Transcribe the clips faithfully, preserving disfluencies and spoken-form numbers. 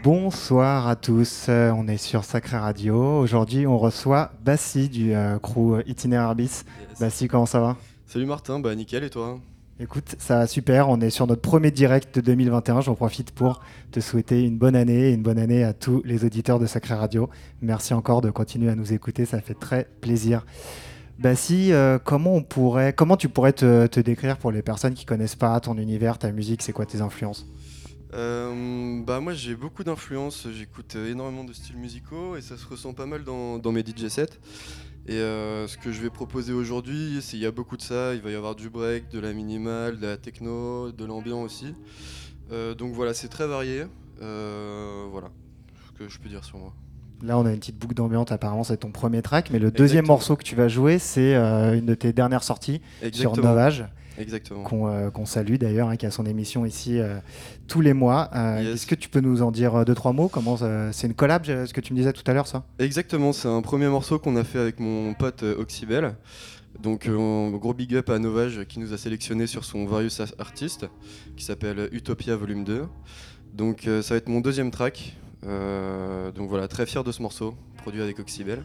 Bonsoir à tous, euh, on est sur Sacré Radio. Aujourd'hui, on reçoit Bassi du euh, crew Itinéraire Bis. Yes. Bassi, comment ça va ? Salut Martin, bah nickel et toi ? Écoute, ça va super, on est sur notre premier direct de deux mille vingt et un. J'en profite pour te souhaiter une bonne année et une bonne année à tous les auditeurs de Sacré Radio. Merci encore de continuer à nous écouter, ça fait très plaisir. Bassi, euh, comment, on pourrait, comment tu pourrais te, te décrire pour les personnes qui ne connaissent pas ton univers, ta musique, c'est quoi tes influences ? Euh, bah moi j'ai beaucoup d'influences, j'écoute énormément de styles musicaux et ça se ressent pas mal dans, dans mes D J sets. Et euh, ce que je vais proposer aujourd'hui, c'est il y a beaucoup de ça, il va y avoir du break, de la minimale, de la techno, de l'ambiant aussi. Euh, donc voilà, c'est très varié, euh, voilà ce que je peux dire sur moi. Là on a une petite boucle d'ambiance, apparemment c'est ton premier track, mais le Exactement. deuxième morceau que tu vas jouer c'est euh, une de tes dernières sorties Exactement. sur Novage. Exactement. Qu'on, euh, qu'on salue d'ailleurs, hein, qui a son émission ici euh, tous les mois. Euh, yes. Est-ce que tu peux nous en dire deux, trois mots ? Comment ça, c'est une collab, ce que tu me disais tout à l'heure, ça ? Exactement, c'est un premier morceau qu'on a fait avec mon pote euh, Oxybel. Donc euh, gros big up à Novage qui nous a sélectionné sur son Various Artist qui s'appelle Utopia Volume deux. Donc euh, ça va être mon deuxième track. Euh, donc voilà, très fier de ce morceau, produit avec Oxybel.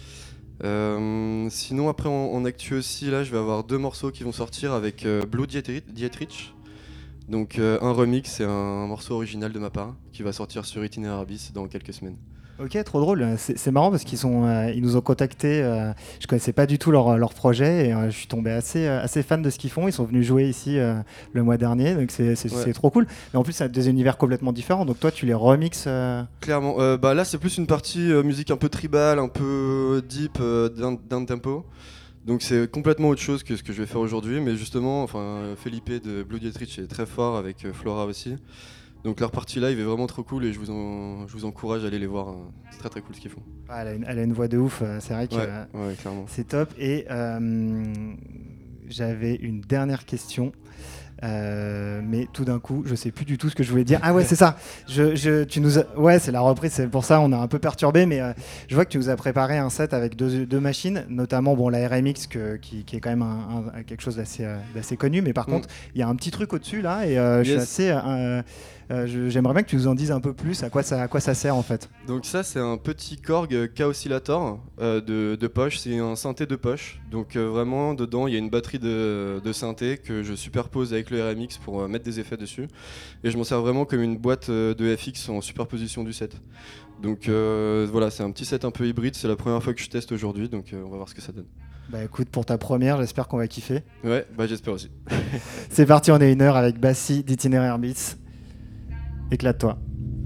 Euh, sinon après en, en actu aussi là je vais avoir deux morceaux qui vont sortir avec euh, Blue Dietrich, donc euh, un remix et un, un morceau original de ma part qui va sortir sur Itinéraire Bis dans quelques semaines. Ok, trop drôle, c'est, c'est marrant parce qu'ils sont, euh, ils nous ont contactés, euh, je connaissais pas du tout leur, leur projet et euh, je suis tombé assez, euh, assez fan de ce qu'ils font, ils sont venus jouer ici euh, le mois dernier, donc c'est, c'est, ouais. c'est trop cool. Mais en plus c'est des univers complètement différents, donc toi tu les remixes euh... Clairement, euh, bah là c'est plus une partie euh, musique un peu tribal, un peu deep, euh, down, down tempo. Donc c'est complètement autre chose que ce que je vais faire aujourd'hui, mais justement, enfin, Felipe de Blue Dietrich est très fort avec euh, Flora aussi. Donc leur partie live est vraiment trop cool et je vous, en, je vous encourage à aller les voir. C'est très très cool ce qu'ils font. Ah, elle, a une, elle a une voix de ouf, c'est vrai que ouais, ouais, clairement. C'est top. Et euh, j'avais une dernière question. Euh, mais tout d'un coup, je sais plus du tout ce que je voulais dire. Ah ouais, c'est ça. Je, je, tu nous as... Ouais, c'est la reprise. C'est pour ça on a un peu perturbé. Mais euh, je vois que tu nous as préparé un set avec deux, deux machines, notamment bon la R M X que, qui, qui est quand même un, un, quelque chose d'assez, euh, d'assez connu. Mais par mm. contre, il y a un petit truc au-dessus là, et euh, yes. je suis assez. Euh, Euh, je, j'aimerais bien que tu nous en dises un peu plus à quoi ça, à quoi ça sert en fait. Donc ça c'est un petit Korg K-Oscillator euh, de, de poche, c'est un synthé de poche. Donc euh, vraiment dedans il y a une batterie de, de synthé que je superpose avec le R M X pour euh, mettre des effets dessus. Et je m'en sers vraiment comme une boîte de F X en superposition du set. Donc euh, voilà, c'est un petit set un peu hybride, c'est la première fois que je teste aujourd'hui, donc euh, on va voir ce que ça donne. Bah écoute, pour ta première, j'espère qu'on va kiffer. Ouais, bah j'espère aussi. C'est parti, on est une heure avec Bassi d'Itinéraire Bis. Éclate-toi.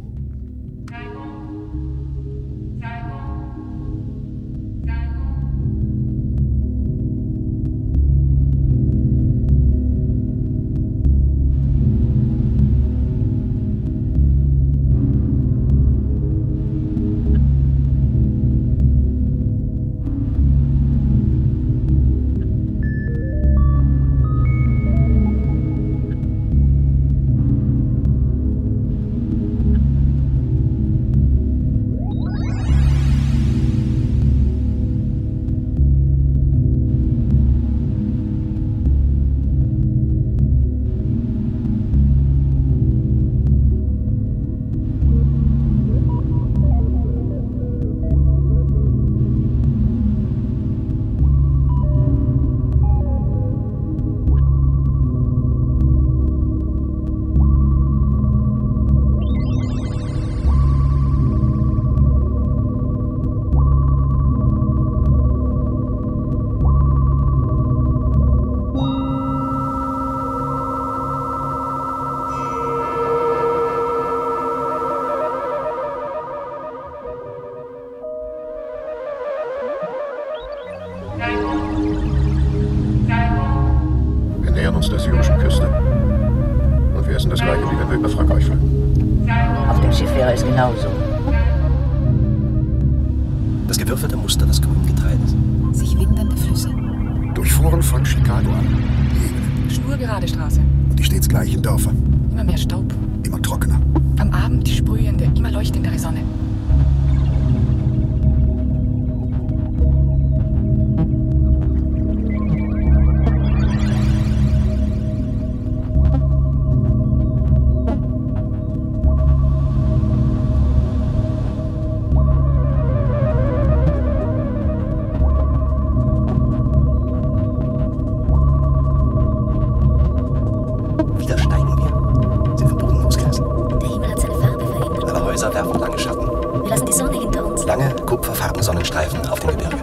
Das gewürfelte Muster des grünen Getreides. Sich windende Flüsse. Durchfuhren von Chicago an. Die Ebene. Schnurgerade Straße. Die stets gleichen Dörfer. Immer mehr Staub. Immer trockener. Am Abend die sprühende, immer leuchtendere Sonne. lange, kupferfarbene Sonnenstreifen auf dem Gebirge.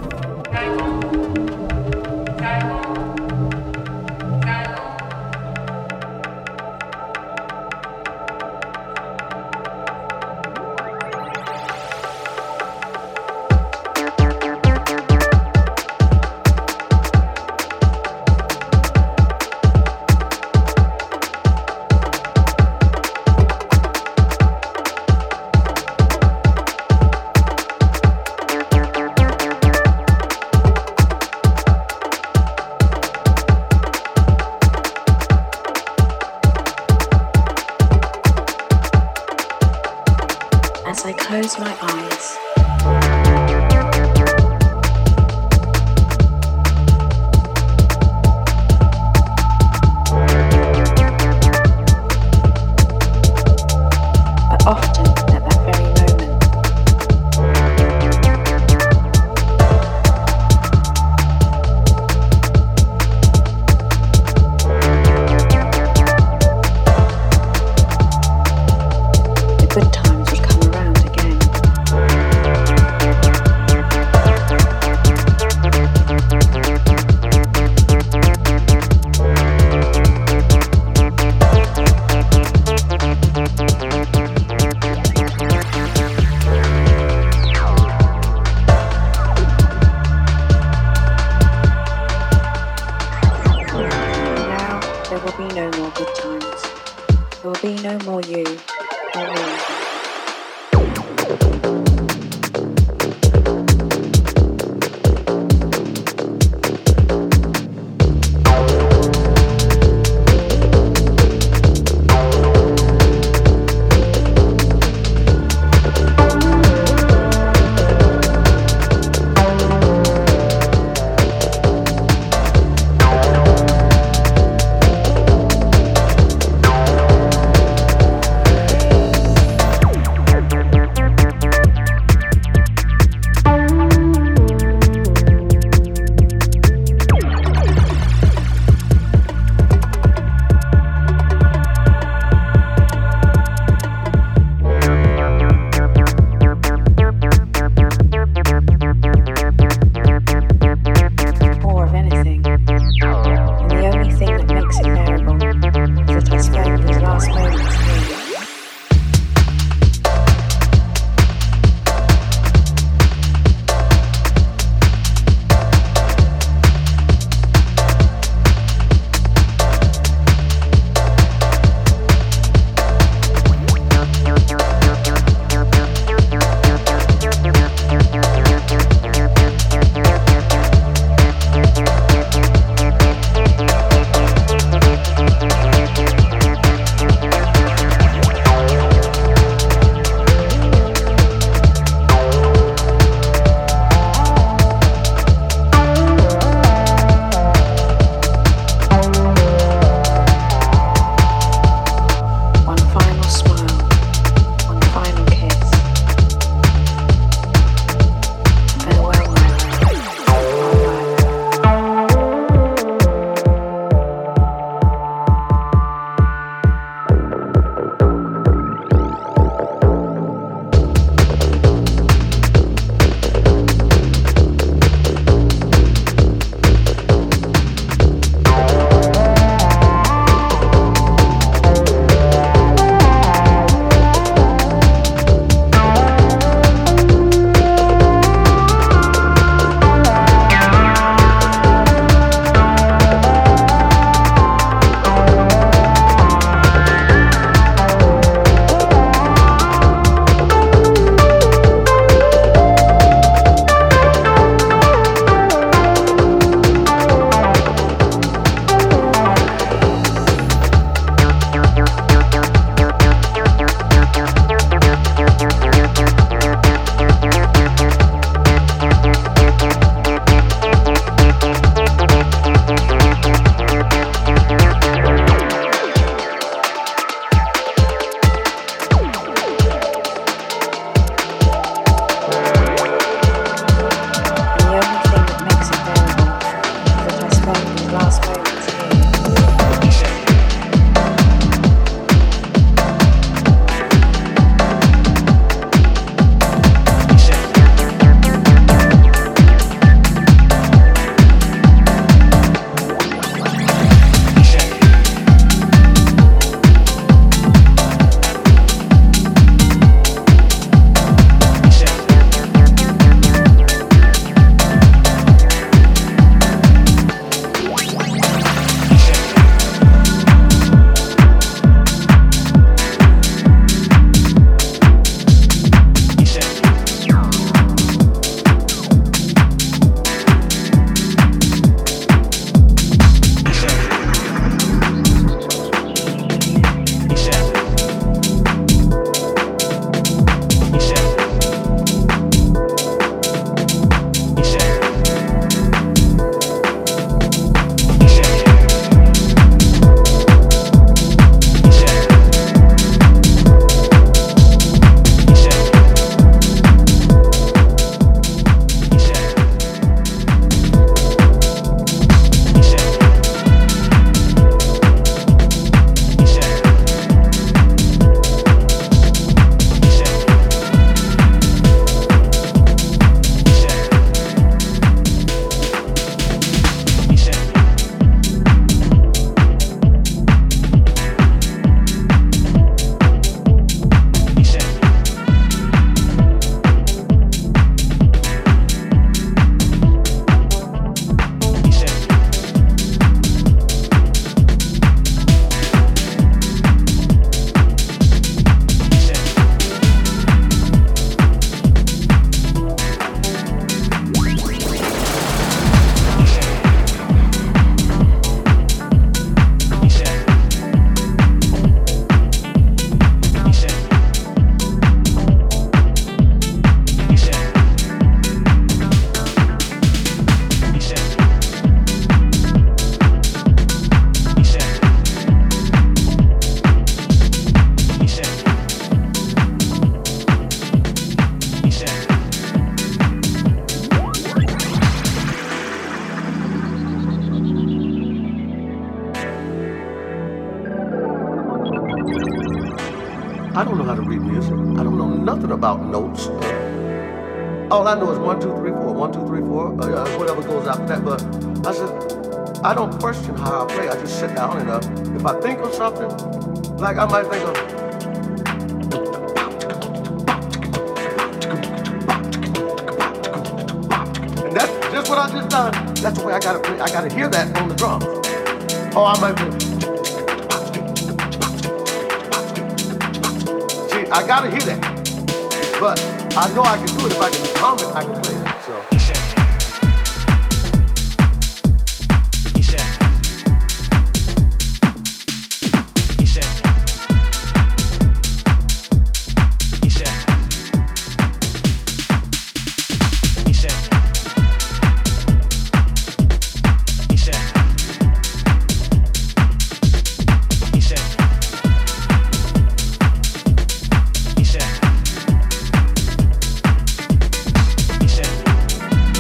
I don't know how to read music. I don't know nothing about notes. All I know is one, two, three, four, one, two, three, four, uh, whatever goes after that. But I said, I don't question how I play. I just sit down and uh, if I think of something, like I might think of. And that's just what I just done. That's the way I gotta play. I gotta hear that on the drums. Oh, I might be. See, I gotta hear that. But I know I can do it. If I can hum it, I can play it. So. He said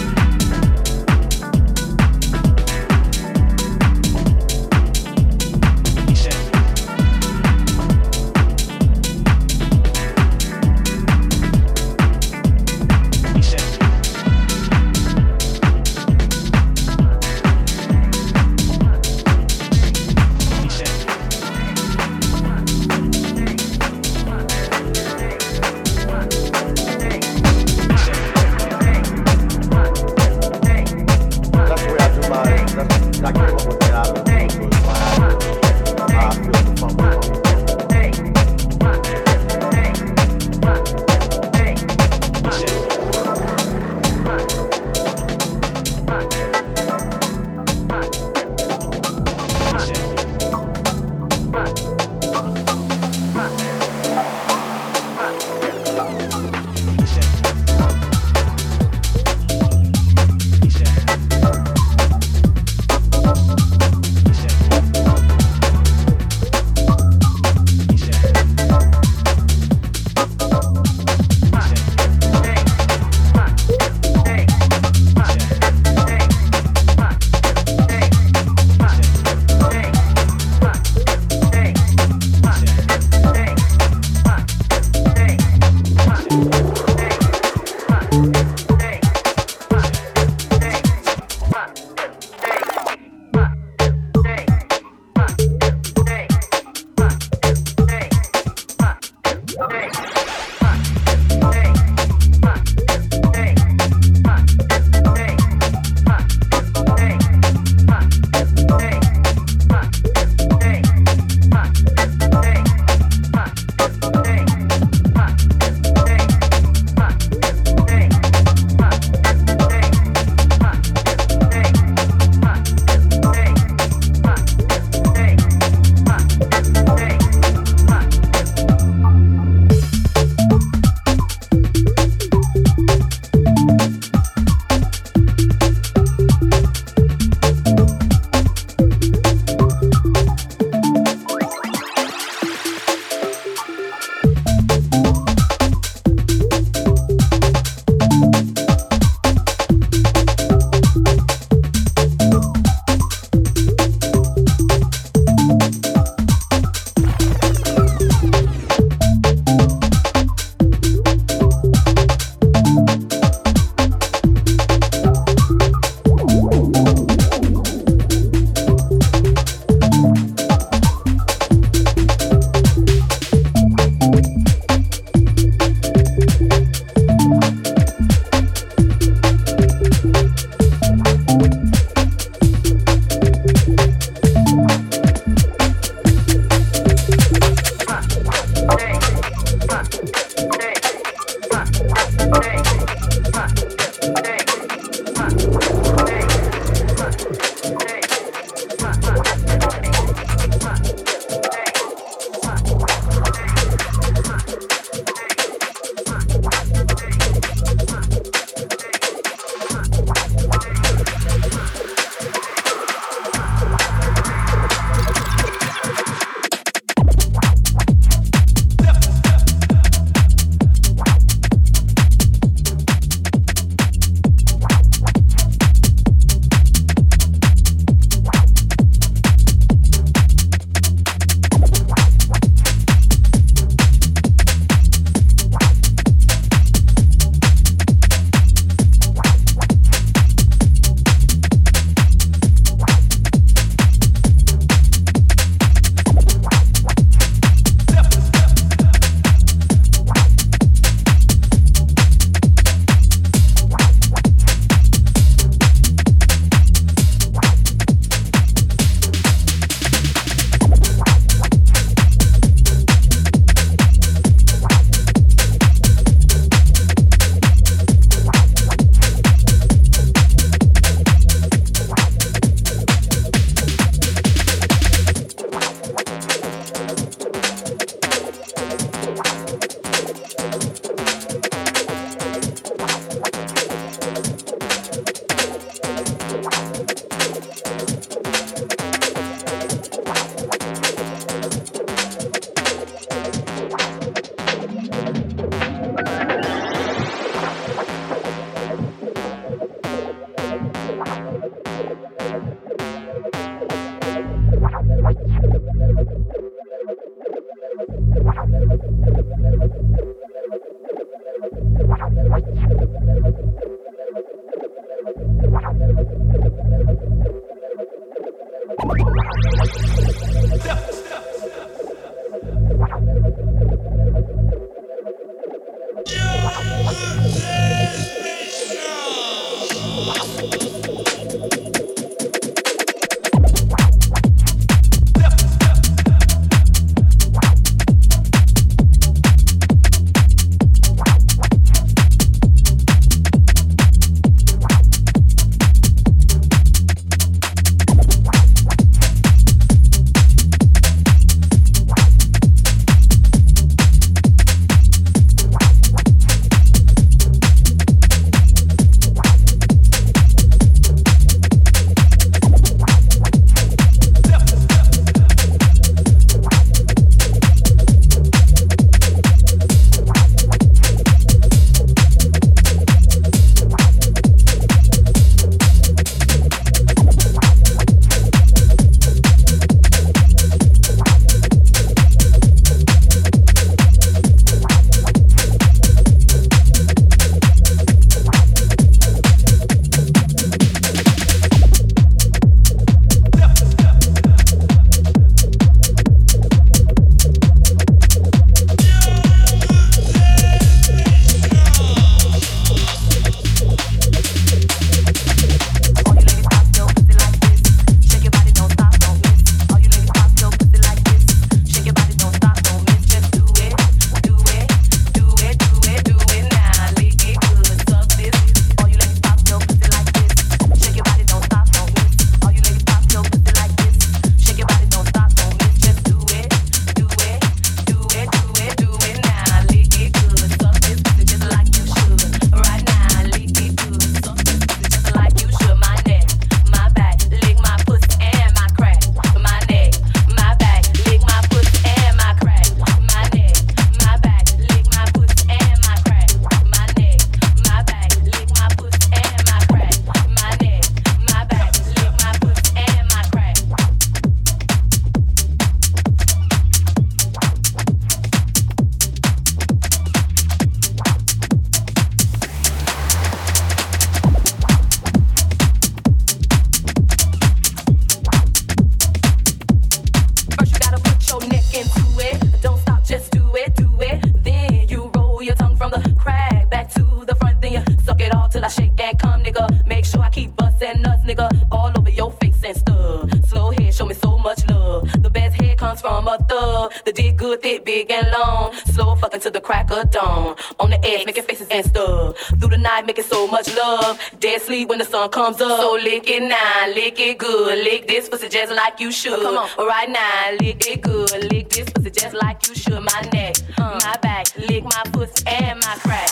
When the sun comes up, so lick it now, lick it good, lick this pussy just like you should. Come on, right now, lick it good, lick this pussy just like you should. My neck, uh. my back, lick my pussy and my crack.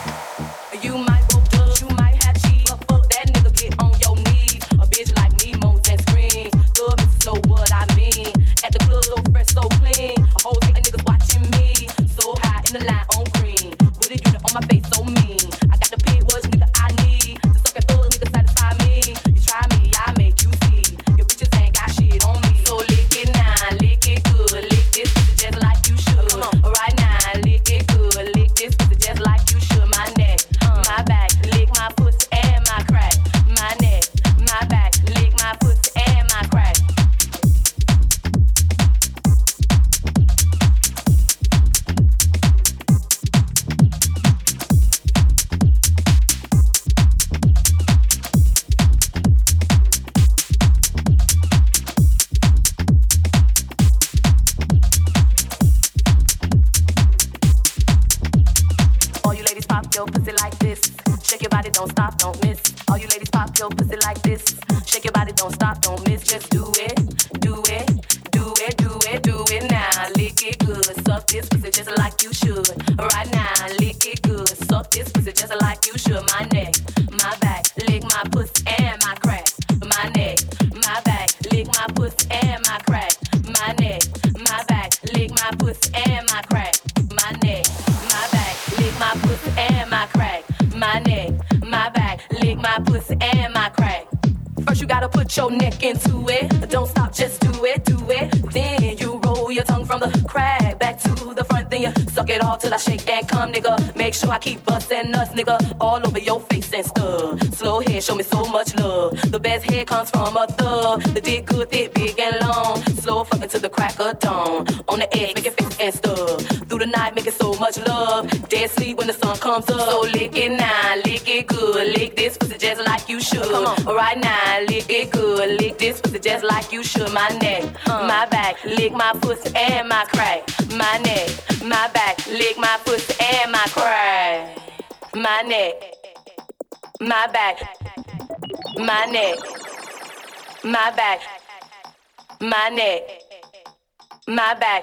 You might go judge, you might have cheese, but fuck that nigga, get on your knees. A bitch like me moans and screams. Good bitches know what I mean. At the club, so fresh, so clean. A whole thing of niggas watching me, so high in the line on green. With a unit on my face, so mean. I got the pig was nigga I need. Suck this pussy just like you should. My neck, and my crack. My neck, my back, lick my pussy and my crack. My neck, my back, lick my pussy and my crack. My neck, my back, lick my pussy and my crack. First you gotta put your neck into it. Don't stop, just do it, do it. Then you roll your tongue from the crack back to the front. Then you suck it all till I shake and come, nigga. Make sure I keep busting nuts, nigga, all over your face and stuff. Slow head, show me so much love. The best head comes from a thug. The dick good, thick, big and long. Slow fucking to the crack of dawn. On the edge, make it fix and stuff. Through the night, making so much love. Dead sleep when the sun comes up. So lick it now, lick it good. Lick this pussy just like you should. Come on, right now, lick it good. Lick this pussy just like you should. My neck, uh. my back, lick my pussy and my crack. My neck, my back, lick my pussy and my crack. My neck, my back, my neck, my back, my neck, my back.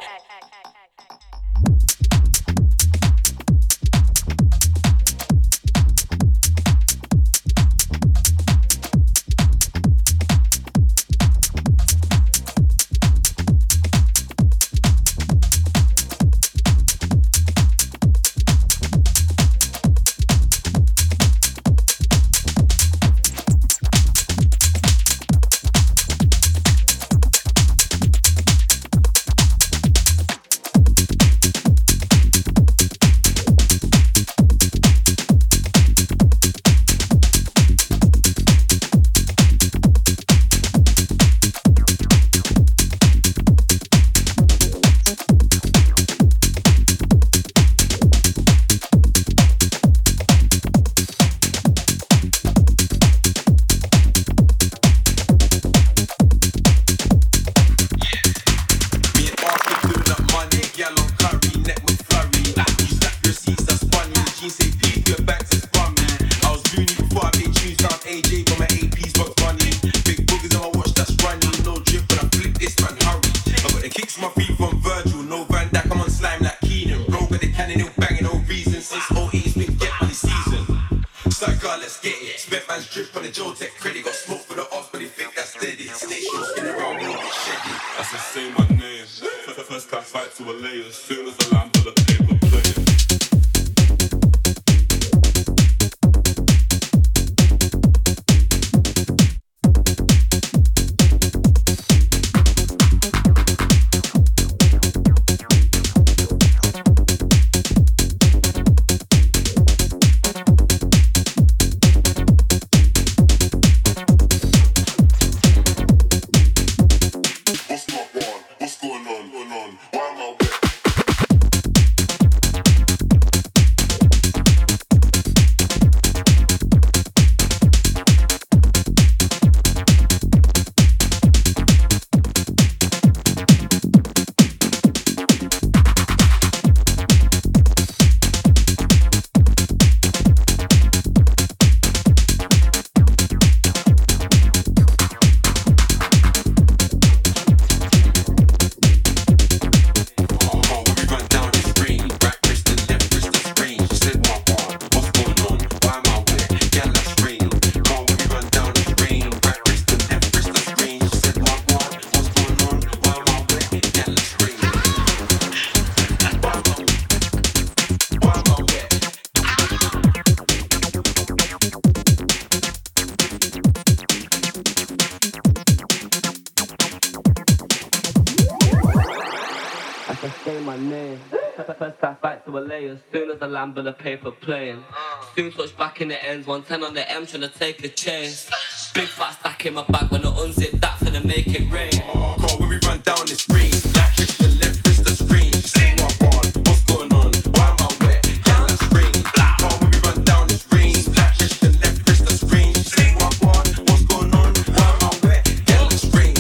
But the paper playing. Soon touch back in the ends. one ten on the M trying to take a chance. Big fat stack in my bag when I unzip that finna make it rain. Call when we run down the screen. Left wrist to left wrist the screen. Say what on, what's going on? Why am I wet? Down the screen. Call when we run down the screen. Left wrist to left wrist the screen. Say what on, what's going on? Why am I wet? Down the screen.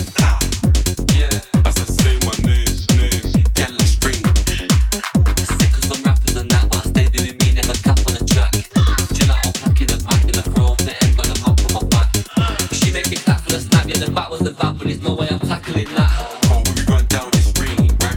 Yeah, I said say my name, name. Down the screen. Sick of some rappers and that, but I stay doing me, never cap on the track. Chill out, I'm packing the pack in the chrome, the end got a hop on my back. She make it clap for the snap, yeah, the back was the back, but there's no way I'm tackling that. Oh, when we run down the screen, right?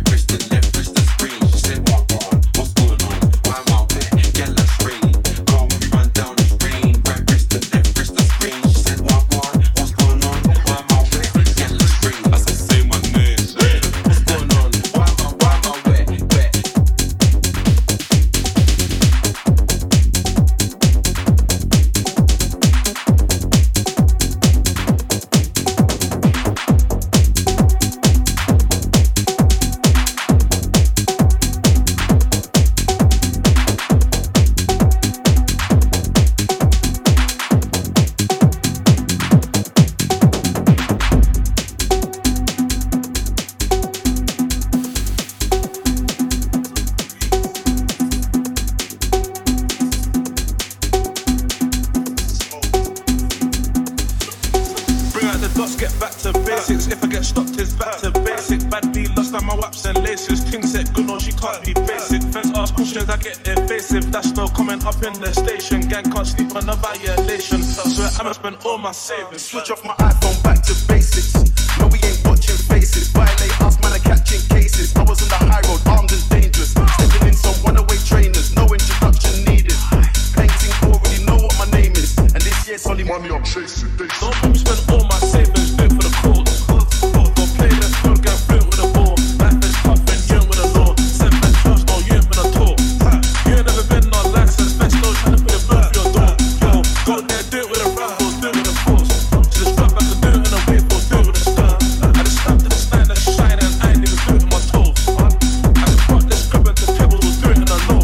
Bring out the dots, get back to basics. If I get stopped, it's back to basic. Bad B lost on my waps and laces. Ting set good, no, she can't be basic. Fence ask questions, I get evasive. That's no comment up in the station. Gang can't sleep on a violation. Swear I'ma spend all my savings. Switch off my iPhone, back to basics. No, we ain't watching faces. Violate us, man, are catching cases. I was on the high road, armed and dangerous. Stepping in some runaway trainers, no introduction needed. Painting already know what my name is. And this year's only money I'm chasing. Don't let me spend all my savings, do it for the cause. Go play this good, get fluent with the ball. Life is tough and you ain't with the law. Send back trust, no, you ain't been a tour. You ain't never been on license, best no trying to put a bird for your door. Yo, go there, do it with a rifle, do it with a force. Just drop back and do it in a wave or do it with a stir. I just stand to the stand and shine and I ain't even do it with my toes. I just brought this grip at the table, we'll do it in a low.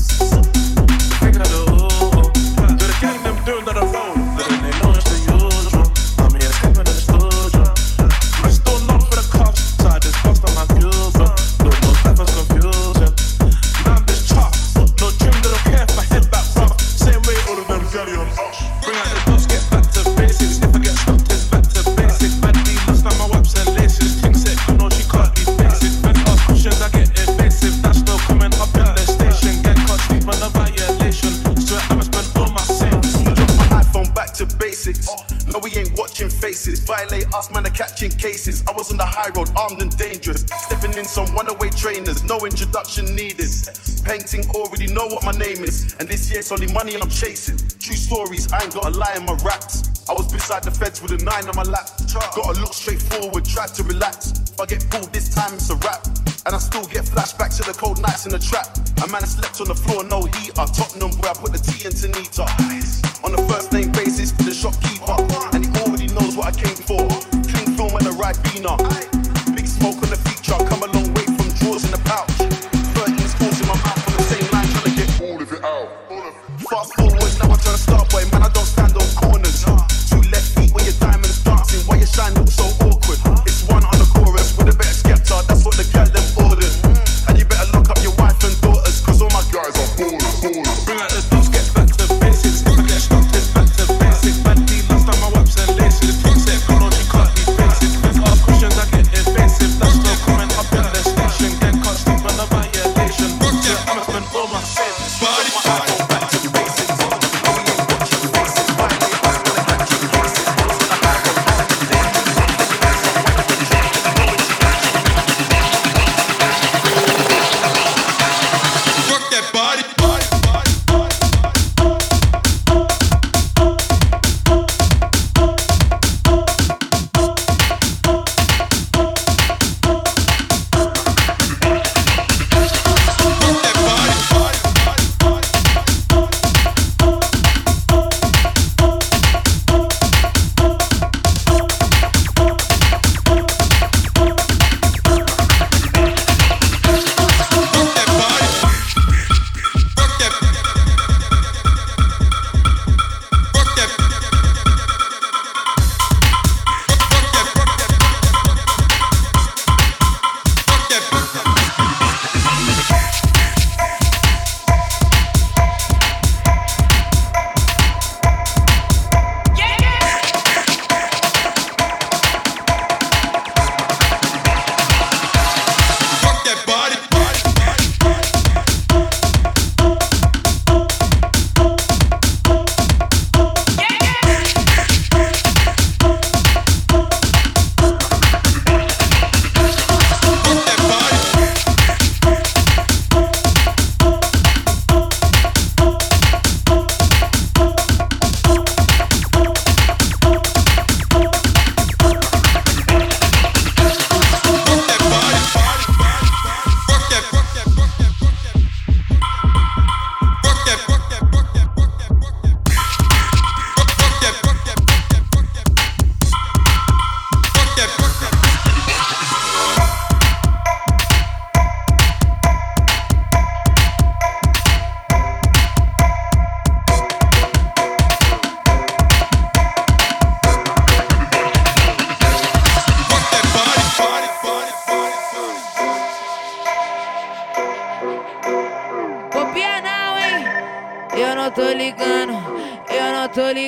Think of the oh, do the gang them doing that a roll. Then they know it's the usual. I'm here stepping in the studio. I still not for the cops, so I just bust on my Cuba. No, no type of confusion. Now I'm this chop. No gym, they don't care if I head back rough. Same way all of them jelly on us. Bring out the dots, get back to basics. If I get stopped, it's back to basic. Bad B lost on my waps and laces. Ting set good, no, she can't be basic. Fence ask questions, I get evasive. That's no comment up in the station. Gang can't sleep on a violation. Swear I'ma spend all my savings. Switch off my iPhone, back to basics. No, we ain't watching faces. Violate us, man, are catching cases. I was on the high road, armed and dangerous. Stepping in some runaway trainers, no introduction needed. Painting already know what my name is. And this year's only money I'm chasing. True stories, I ain't got a lie in my raps. I was beside the feds with a nine on my lap. Gotta look straight forward, try to relax. If I get pulled this time, it's a wrap. And I still get flashbacks to the cold nights in the trap. A man slept on the floor, no heater. Tottenham, where I put the tea into Nita. On the first name basis, the shopkeeper. And he already knows what I came for. Clean film and a Ribena. Big smoke on the feature, come a long way from drawers in the pouch. thirteen scores in my mouth on the same line, trying to get all of it out. Fast forward, now I'm trying to start, boy, man, I don't stand on corners. Two left feet when your diamond's dancing, why your shine looks so awkward? It's one on the chorus with a bit of Skepta, that's what the girl them ordered. And you better lock up your wife and daughters, cause all my guys are ballers, ballers. Bring out the dots, get back to basics. If I get stopped, it's back to basics.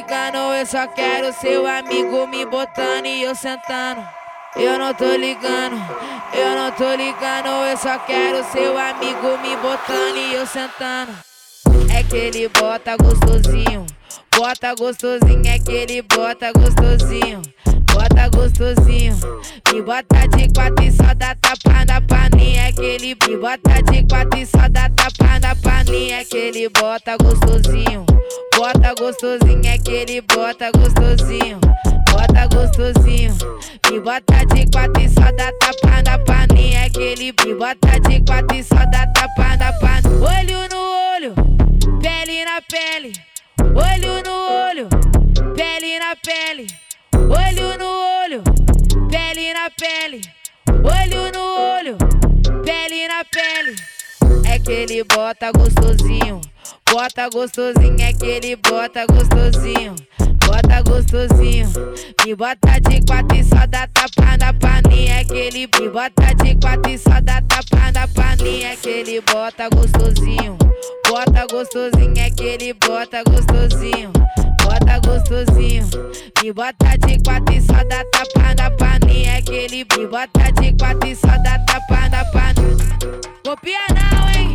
ligando, eu só quero seu amigo me botando e eu sentando. Eu não tô ligando, eu não tô ligando, eu só quero seu amigo me botando e eu sentando. É que ele bota gostosinho, bota gostosinho, é que ele bota gostosinho, bota gostosinho. Me bota de quatro e só dá tapa na paninha, é que ele me bota de quatro e só dá tapa na paninha, é que ele bota gostosinho, bota gostosinho, é que ele bota gostosinho, bota gostosinho. Me bota de quatro e só dá tapa na paninha, é que ele me bota de quatro e só dá tapa na paninha. Olho no olho, pele na pele, olho no olho, pele na pele, olho no olho, pele na pele, olho no olho, pele na pele. É que ele bota gostosinho, bota gostosinho, é que ele bota gostosinho, bota gostosinho. Me bota de quatro e só dá tapa na paninha, é que ele me bota de quatro e só dá tapa na paninha, é que ele bota gostosinho, bota gostosinho, é que ele bota gostosinho, bota gostosinho. Me bota de quatro e só dá tapa na paninha, é que ele me bota de quatro e só dá tapa na paninha. Copia não, hein?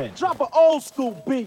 man. Drop an old school beat.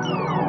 Thank you.